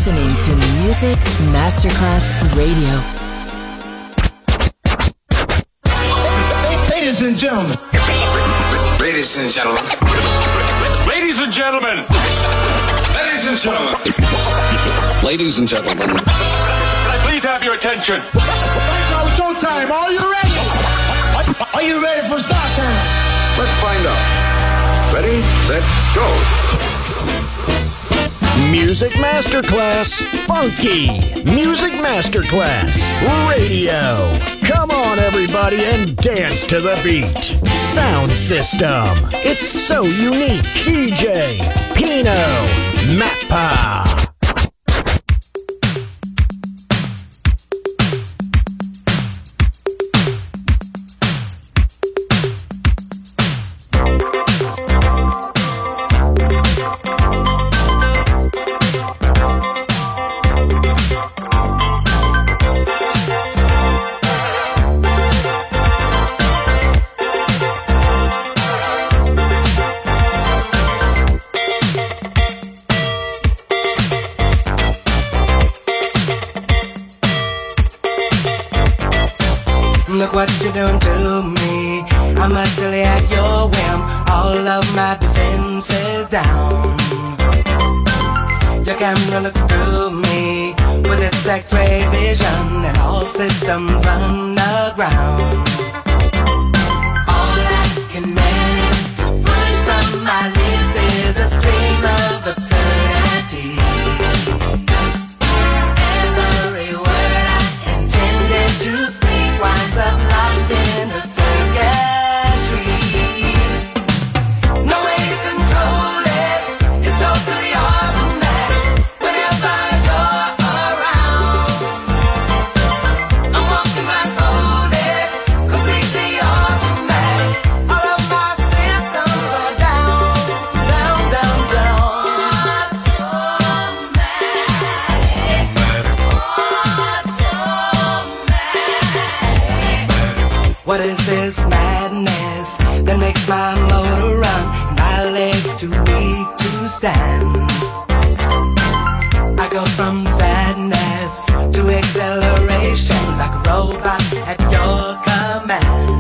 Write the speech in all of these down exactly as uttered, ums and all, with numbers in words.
listening to Music Masterclass Radio. Ladies and gentlemen. Ladies and gentlemen. Ladies and gentlemen. Ladies and gentlemen. Ladies and gentlemen. Can I please have your attention? Now showtime. Are you ready? Are you ready for start time? Let's find out. Ready, set, go. Music Masterclass Funky. Music Masterclass Radio. Come on, everybody, and dance to the beat. Sound system. It's so unique. D J Pino Mappa. Look what you're doing to me. I'm utterly at your whim. All of my defenses down. Your camera looks through me with its X-ray vision, and all systems run aground. All I can manage to push from my lips is a stream of absurdities. Every word I intended to speak winds up locked in a circuitry. No way to control it. It's totally automatic. Whenever you're around, I'm walking blindfolded, completely automatic. All of my systems are down, down, down, down. What is this madness that makes my motor run and my legs too weak to stand? I go from sadness to acceleration like a robot at your command.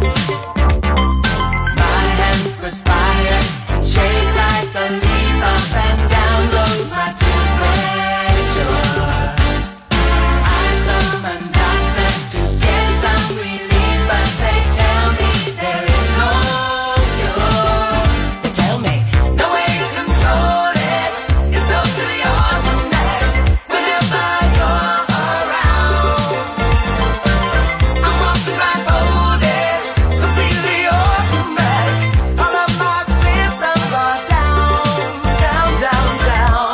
My hands perspire and shake like a leaf. Up and down goes my temperature. I summon doctors to get some relief, but they tell me there is no cure. They tell me no way to control it. It's totally automatic. Whenever you're around, I'm walking blindfolded, completely automatic. All of my systems are down, down, down, down.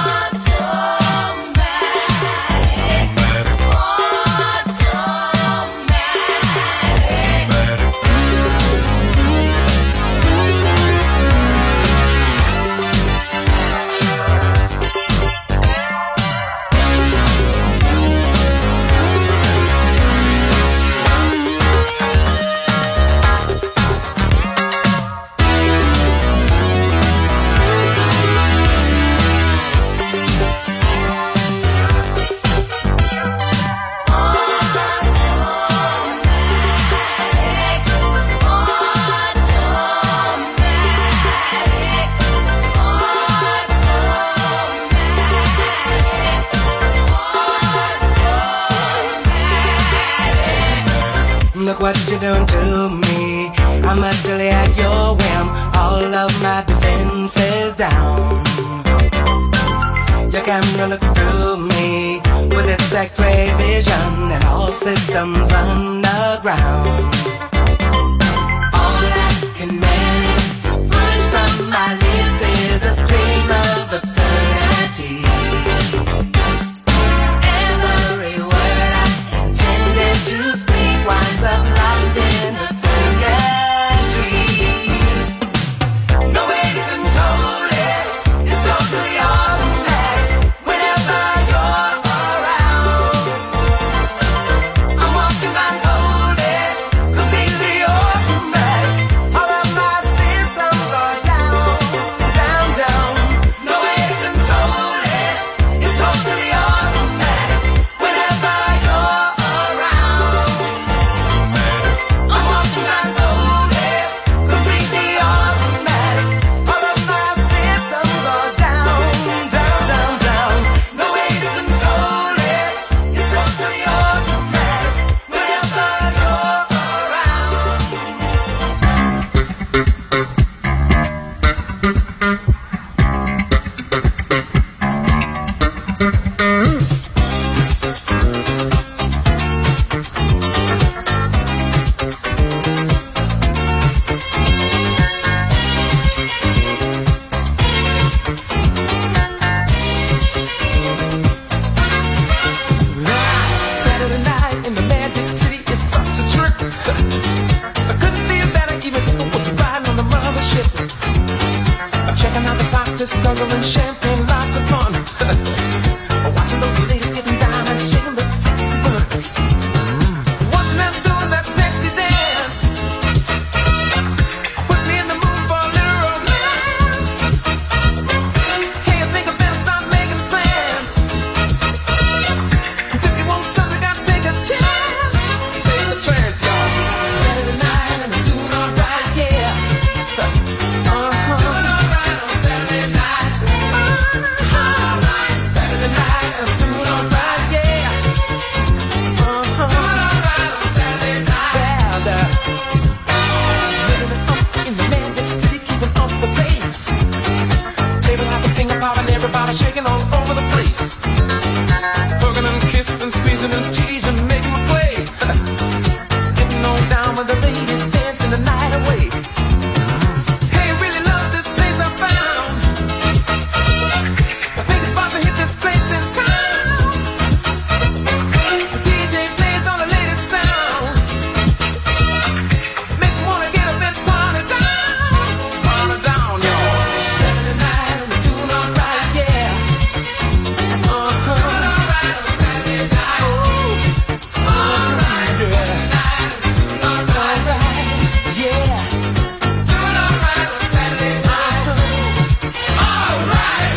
Look what you're doing to me. I'm utterly at your whim. All of my defenses down. Your camera looks through me with its X-ray vision, and all systems run aground. All I can manage to push from my lips is a stream of absurdities. Every word I intended to speak winds up locked in a circuitry. No way to control it. It's totally automatic. Whenever you're around, I'm walking blindfolded, guzzling champagne, lots of fun. Watching those ladies getting down and shaking that sexy butts. Watching them doing that sexy dance puts me in the mood for a little romance. Hey, I think I better start making plans. 'Cause if you want something, gotta take a chance. Take the chance, y'all. Saturday night and I'm doing alright, yeah. Uh-huh. Doing alright on Saturday night. Uh-huh. Alright, Saturday night and I'm doing alright, yeah. Uh-huh. Doing alright on Saturday night. Yeah, the living it up in the Magic City, keeping up the pace. Table hopping, finger popping, everybody shaking all over the place. Hugging and kissing, squeezing and teasing, making me play. Getting on down with the ladies, dancing the night away. Hey, really love this place I found. I think it's about to hit this place in town. The D J plays all the latest sounds. Makes me wanna get up and party down. Party down, y'all. Saturday night and we're doing alright, yeah. Uh-huh. Doing alright on Saturday night. Ooh. Alright, Saturday night and we're doing alright, yeah. Doing alright on Saturday night. Alright.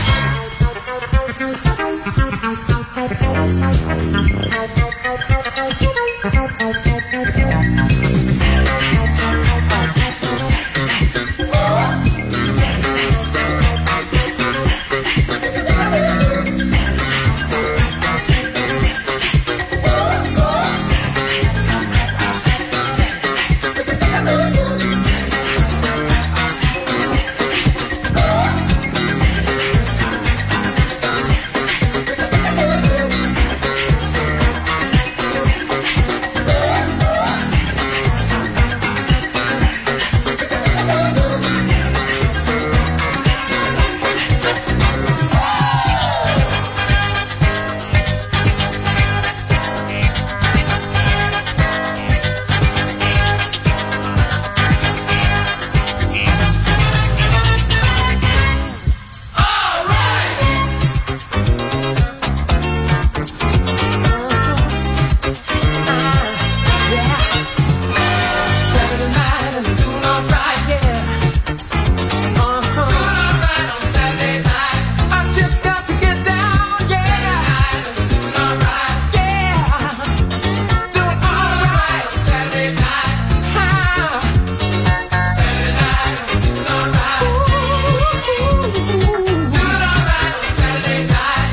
Saturday night and we're doing alright, yeah. Uh-huh. Doing alright on Saturday night. I just got to get down, yeah. Saturday night and we're doing alright, yeah. Doing alright on Saturday night. Ah. Saturday night and we're doing alright. Ooh. Doing alright on Saturday night.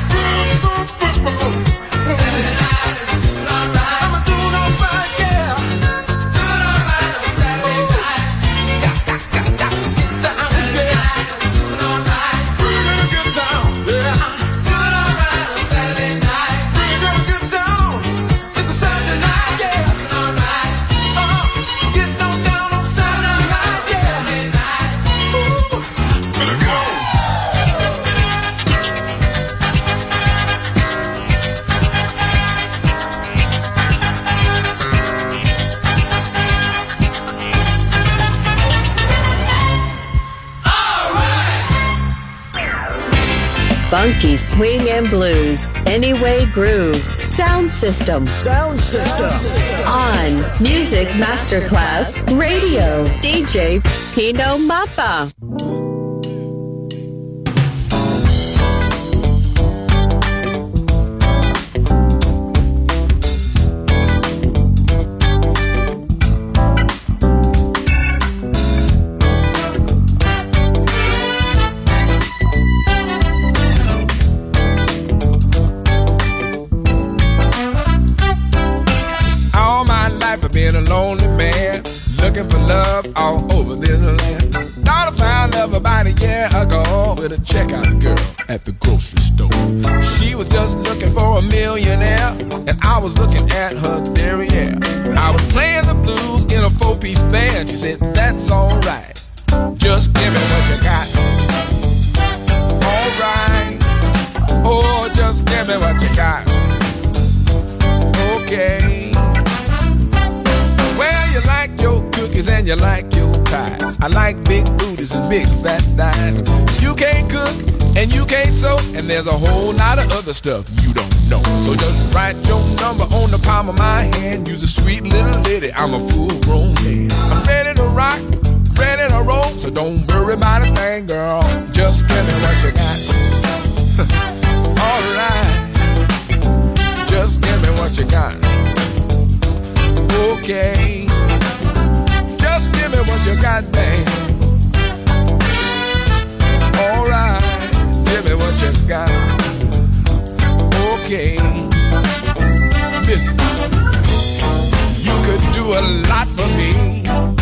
Saturday night and we're doing alright. I'm doing alright, yeah. Doing alright on Saturday night. Got, got, got, got to get down, Saturday night and we're doing alright. We're gonna get down, yeah. Doing alright on Saturday night. We're gonna get down. It's a Saturday night, yeah. Doing alright. Uh-huh. Get on down on Saturday night, yeah. Saturday night. Ooh. Gonna go. Funky swing and blues. Anyway groove. Sound system. Sound system. On Music Masterclass Radio. D J Pino Mappa. All my life I've been a lonely man, looking for love all over this land. Thought I found love about a year ago with a checkout girl at the grocery store. She was just looking for a millionaire, and I was looking at her derriere. I was playing the blues in a four-piece band. She said, that's alright, just give me what you got. Alright, oh, just give me what you got. Okay. Well, you like your cookies and you like your pie. ties. I like big booties and big fat thighs. You can't cook and you can't sew, and there's a whole lot of other stuff you don't know. So just write your number on the palm of my hand. You're a sweet little lady, I'm a full-grown man. I'm ready to rock, ready to roll, so don't worry about a thing, girl. Just give me what you got. Alright, just give me what you got. Okay, just give me what you got, babe. Alright, give me what you got. Okay, listen, you could do a lot for me,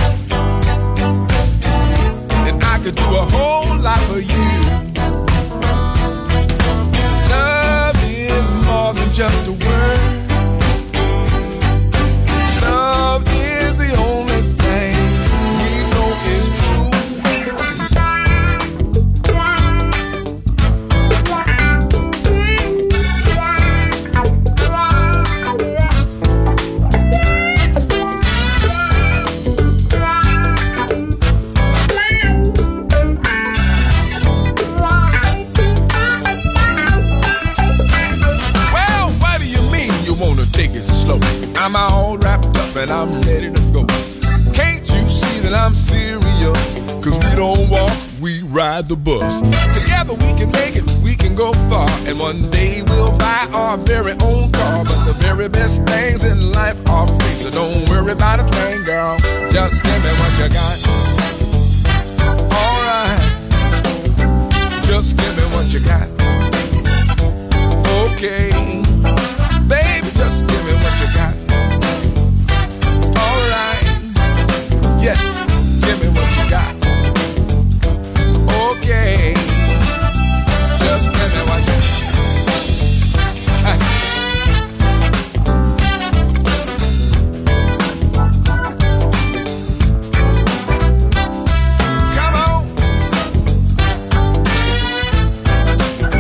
and I could do a whole lot for you. Love is more than just a word. Love is the only thing we know is true. I'm all wrapped up and I'm ready to go. Can't you see that I'm serious? Cause we don't walk, we ride the bus. Together we can make it, we can go far, and one day we'll buy our very own car. But the very best things in life are free, so don't worry about a thing, girl. Just give me what you got. Alright, just give me what you got. Okay, baby, just give me what you got. Yes, give me what you got. Okay, just give me what you got. Come on.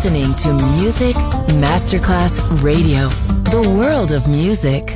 listening to Music Masterclass Radio, the world of music.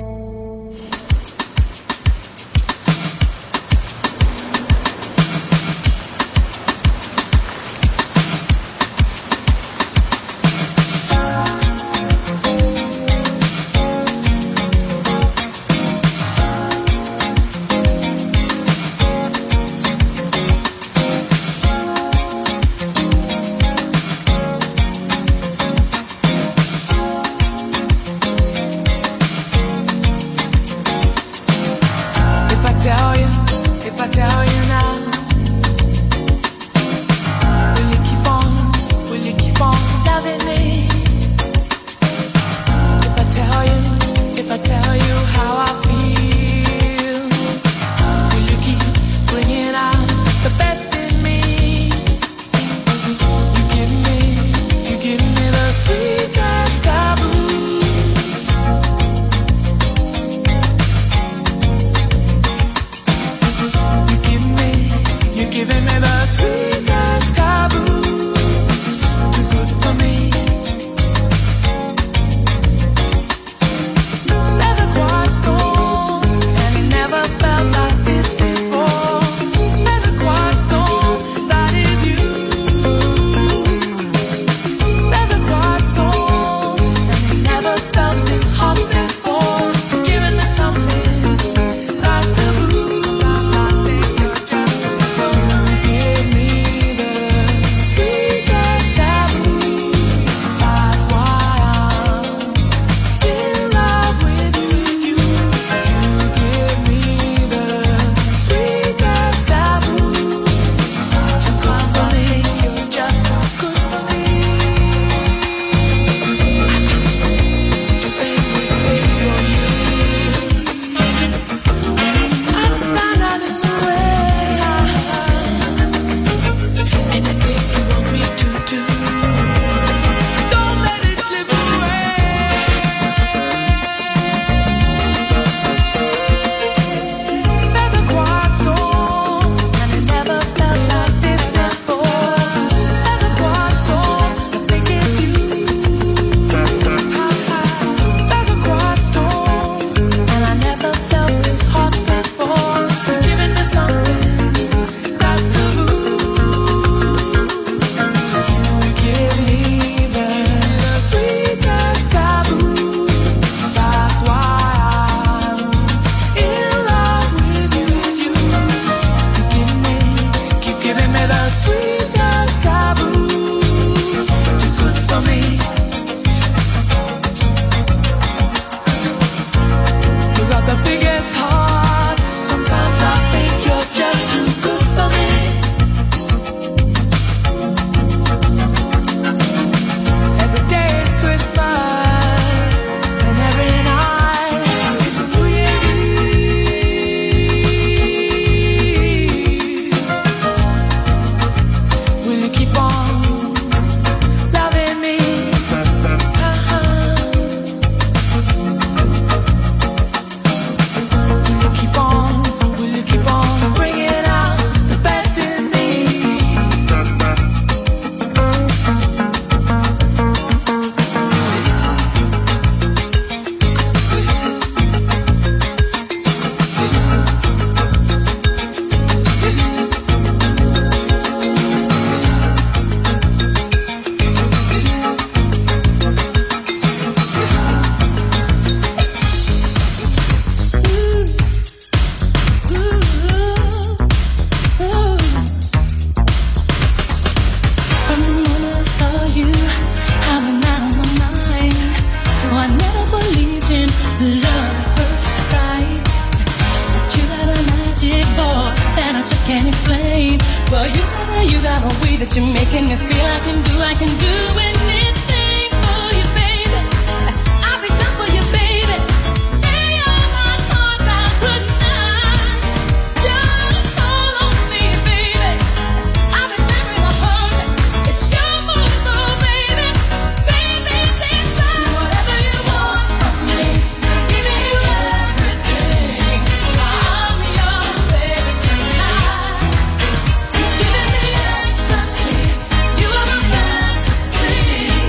Fantasy.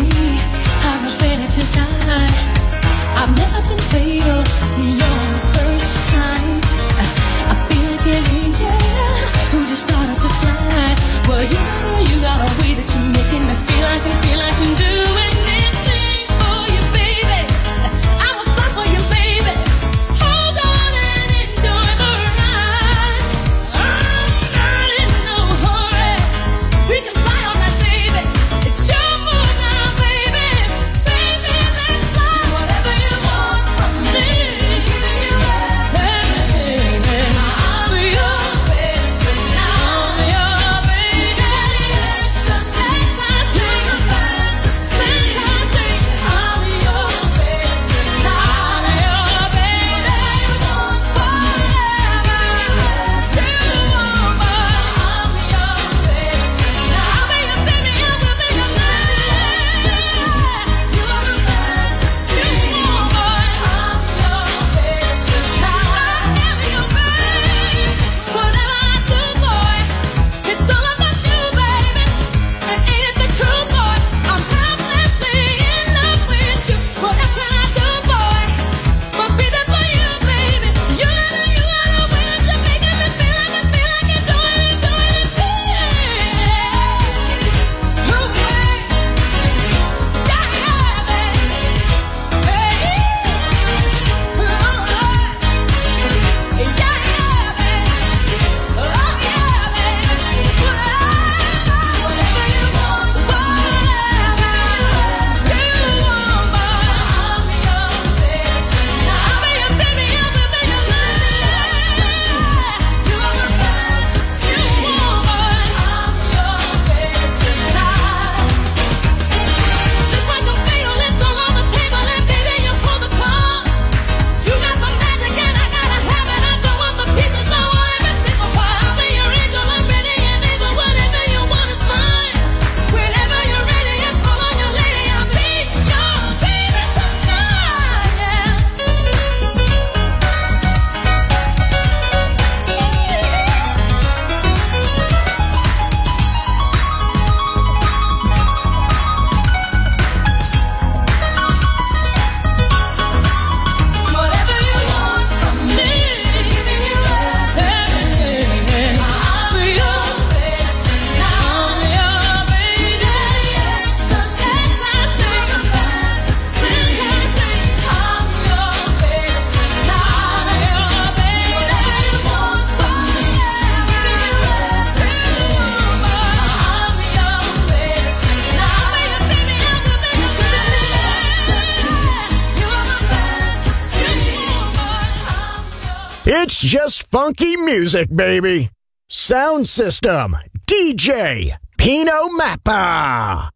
It's just funky music, baby. Sound System, D J Pino Mappa.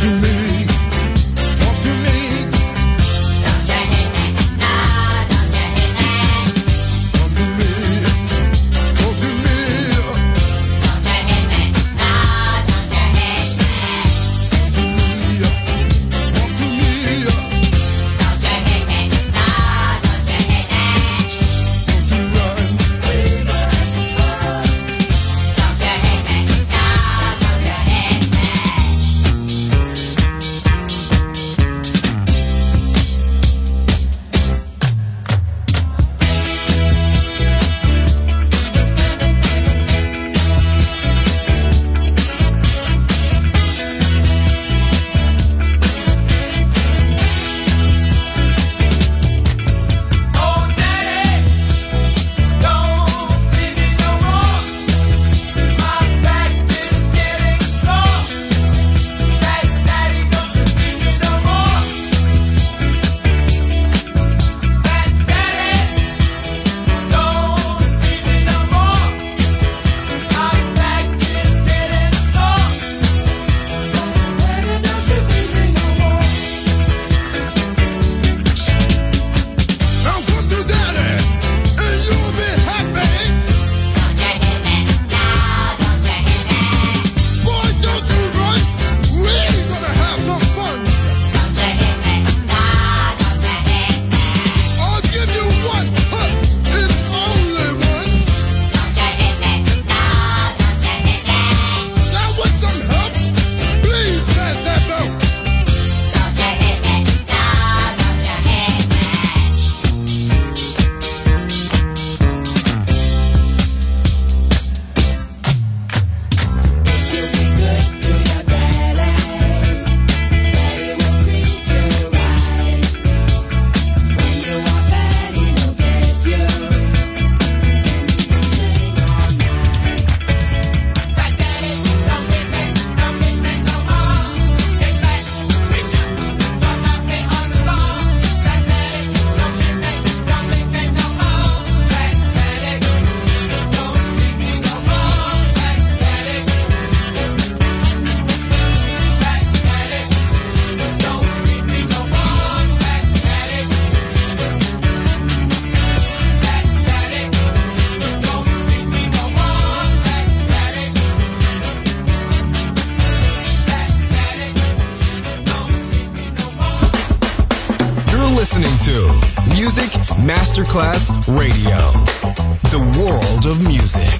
listening to Music Masterclass Radio, the world of music.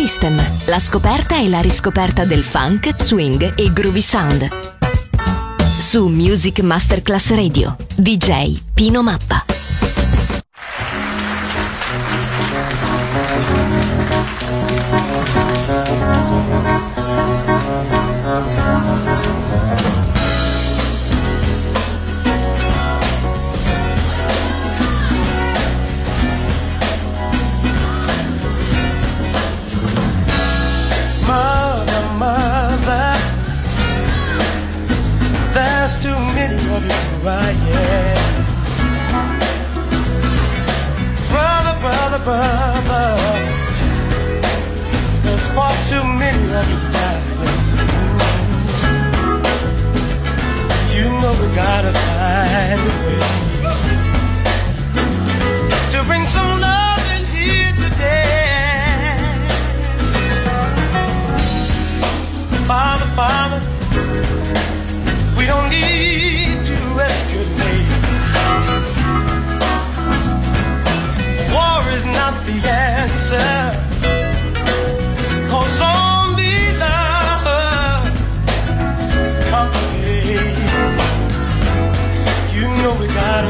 System, la scoperta e la riscoperta del funk, swing e groovy sound. Su Music Masterclass Radio, D J Pino Mappa. Mother, mother, there's too many of you right here. Brother, brother, brother, there's far too many of you dying. You know we gotta find a way to bring some love in here today. Father, Father, we don't need to escalate. War is not the answer, 'cause only love conquers. You know we gotta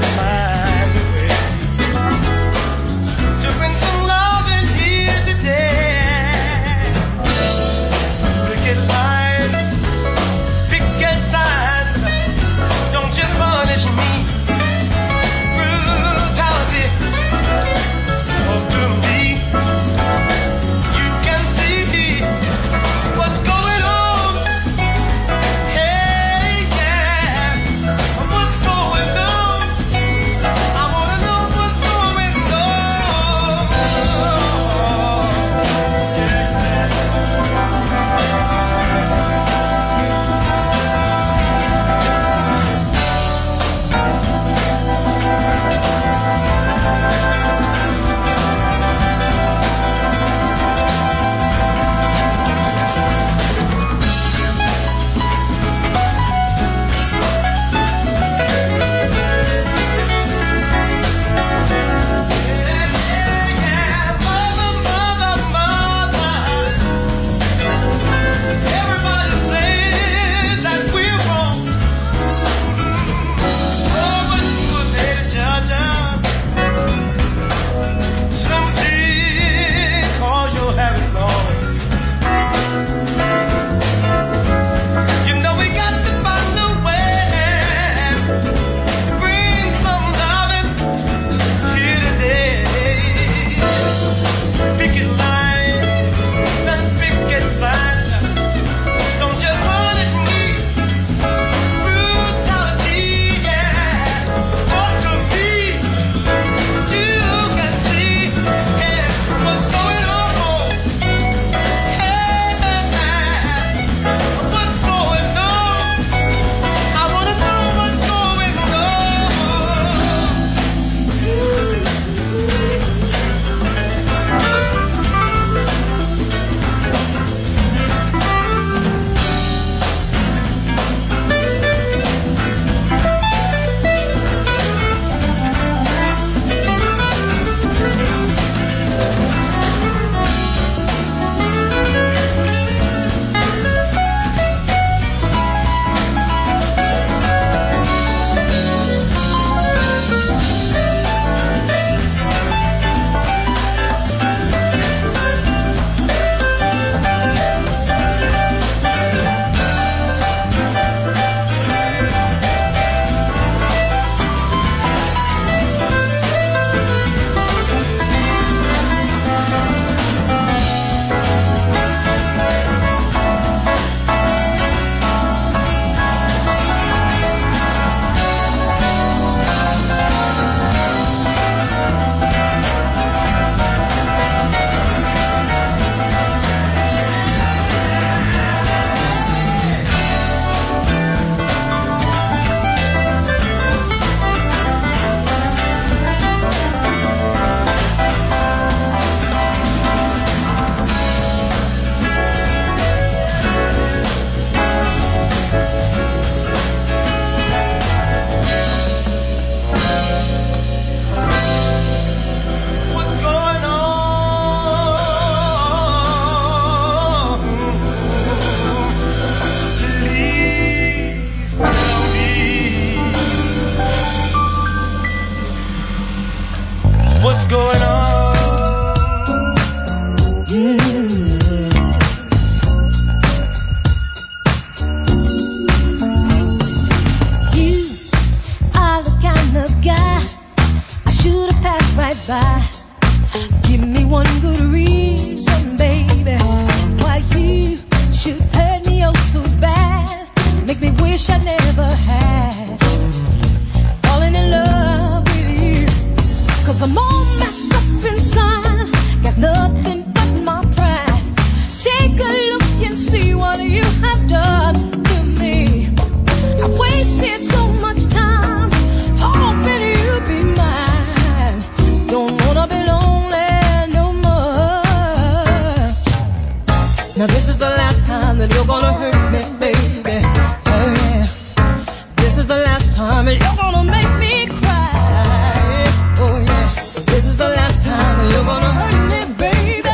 Now this is the last time that you're gonna hurt me, baby. Oh yeah. This is the last time that you're gonna make me cry. Oh yeah. This is the last time that you're gonna hurt me, baby.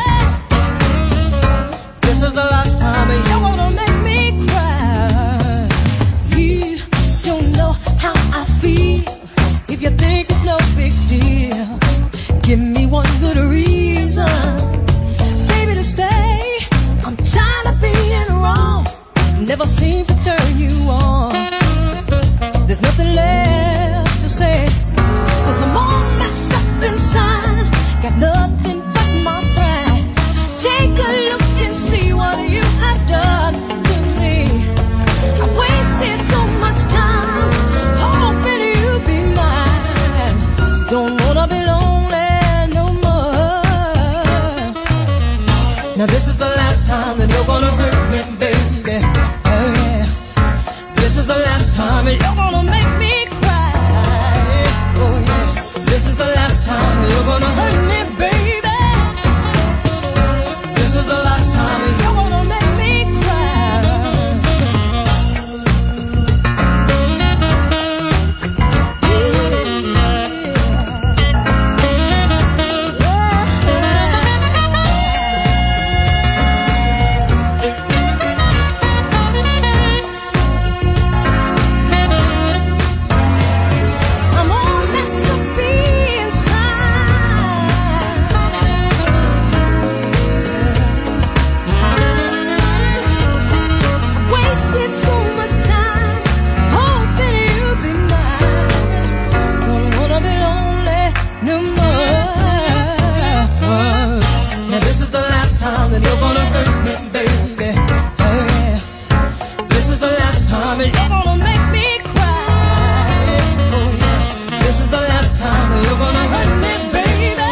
This is the last time that you're gonna make me cry. You don't know how I feel. If you think it's no big deal, give me one good reason, baby, to stay. I'm tired of being wrong, never seem to turn you on. There's nothing left to say, 'cause I'm all messed up inside, got nothing but my pride. Take a look and see what you have done to me. I wasted so much time hoping you'd be mine. Don't wanna be lonely no more. Now this is the last time that you're gonna hurt me, baby. Oh yeah. This is the last time that you're gonna make me cry. Oh yeah. This is the last time that you're gonna hurt me, baby. This is the last time that you're gonna make me cry. I'm all messed up inside. Wasted so much time hoping you'd be mine. Don't wanna be lonely no more. Now this is the last time that you're gonna hurt me, baby. Oh yeah. This is the last time that you're gonna make me cry. Oh yeah. This is the last time that you're gonna hurt me, baby.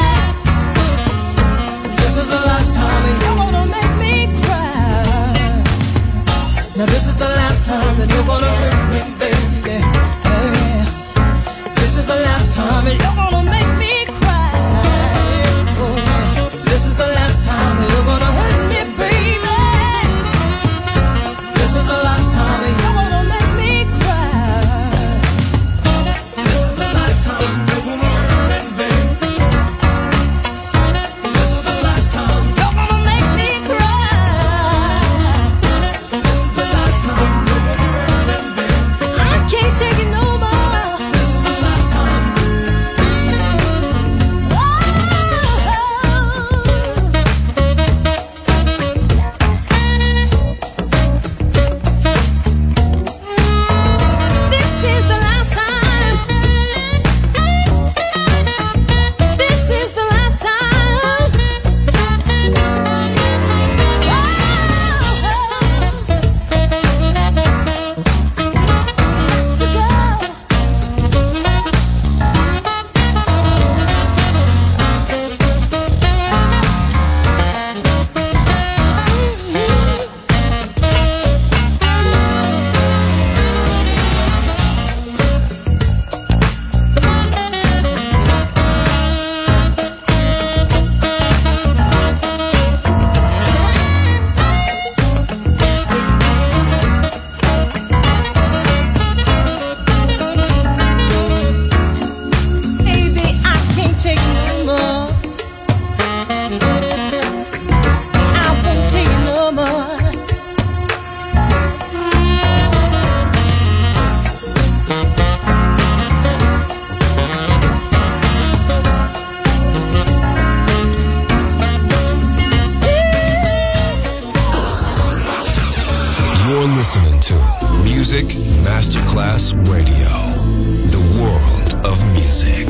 This is the last time that you're gonna make me cry. Now this is the last time that you're gonna hurt me, baby. Oh yeah. This is the last time that you're gonna make me cry. Oh yeah. This is the last time that you're gonna hurt me, baby. This is the last time that you're gonna make me cry. This is the last time you're gonna hurt me, baby. This is the last time you're gonna make me cry. This is the last time you're gonna hurt me, baby. I can't take it no more. This is the last time. Oh. This is the last time. This is the last time. To go. Baby, I can't take it no more. I won't take it no more. You're listening to Music Masterclass Radio, the world of music.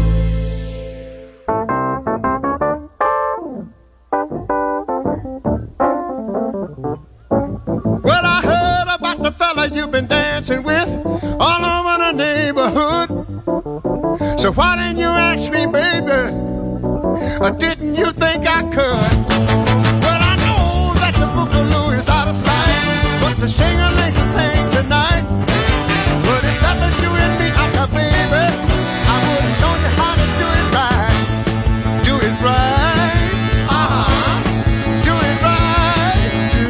Well, I heard about the fella you've been dancing with all over the neighborhood. So why didn't you ask me, baby? Or didn't you think I could? Well, I know that the boogaloo is out of sight, but the shing-a-ling's a thing tonight. But if that was you and me, I got baby, I would have shown you how to do it right. Do it right. Uh-huh. Do it right.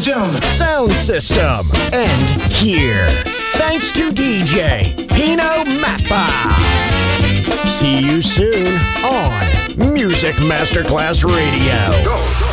gentlemen. sound system, and here. Thanks to D J Pino Mappa. See you soon on Music Masterclass Radio. Go.